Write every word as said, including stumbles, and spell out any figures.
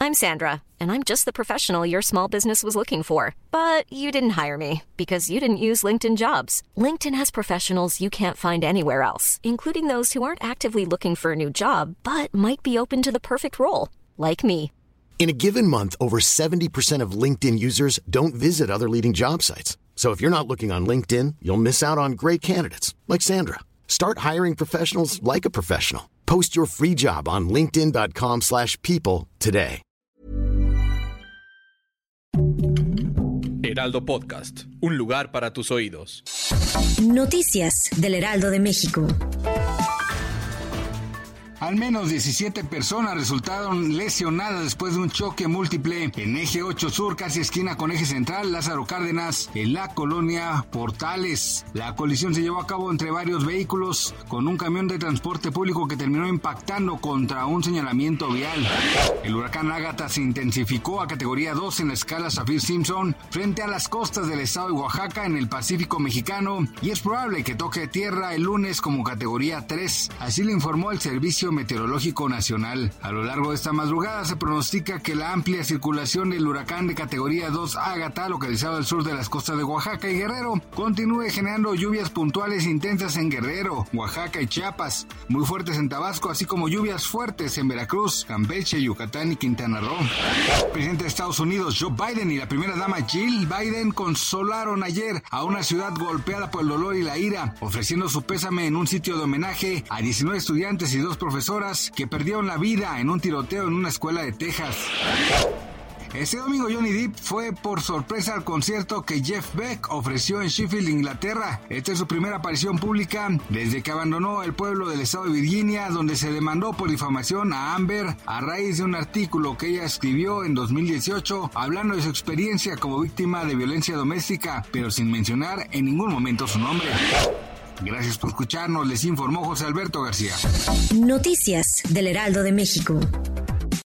I'm Sandra, and I'm just the professional your small business was looking for. But you didn't hire me because you didn't use LinkedIn Jobs. LinkedIn has professionals you can't find anywhere else, including those who aren't actively looking for a new job, but might be open to the perfect role, like me. In a given month, over seventy percent of LinkedIn users don't visit other leading job sites. So if you're not looking on LinkedIn, you'll miss out on great candidates like Sandra. Start hiring professionals like a professional. Post your free job on linkedin dot com slash people today. Heraldo Podcast, un lugar para tus oídos. Noticias del Heraldo de México. Al menos diecisiete personas resultaron lesionadas después de un choque múltiple en Eje ocho Sur, casi esquina con Eje Central, Lázaro Cárdenas, en la colonia Portales. La colisión se llevó a cabo entre varios vehículos, con un camión de transporte público que terminó impactando contra un señalamiento vial. El huracán Ágata se intensificó a categoría dos en la escala Saffir-Simpson frente a las costas del estado de Oaxaca en el Pacífico mexicano, y es probable que toque tierra el lunes como categoría tres. Así lo informó el Servicio Meteorológico Nacional. A lo largo de esta madrugada se pronostica que la amplia circulación del huracán de categoría dos Ágata, localizado al sur de las costas de Oaxaca y Guerrero, continúe generando lluvias puntuales intensas en Guerrero, Oaxaca y Chiapas, muy fuertes en Tabasco, así como lluvias fuertes en Veracruz, Campeche, Yucatán y Quintana Roo. El presidente de Estados Unidos, Joe Biden, y la primera dama Jill Biden consolaron ayer a una ciudad golpeada por el dolor y la ira, ofreciendo su pésame en un sitio de homenaje a diecinueve estudiantes y dos profesores que perdieron la vida en un tiroteo en una escuela de Texas. Este domingo Johnny Depp fue por sorpresa al concierto que Jeff Beck ofreció en Sheffield, Inglaterra. Esta es su primera aparición pública desde que abandonó el pueblo del estado de Virginia, donde se demandó por difamación a Amber a raíz de un artículo que ella escribió en dos mil dieciocho hablando de su experiencia como víctima de violencia doméstica, pero sin mencionar en ningún momento su nombre. Gracias por escucharnos, les informó José Alberto García. Noticias del Heraldo de México.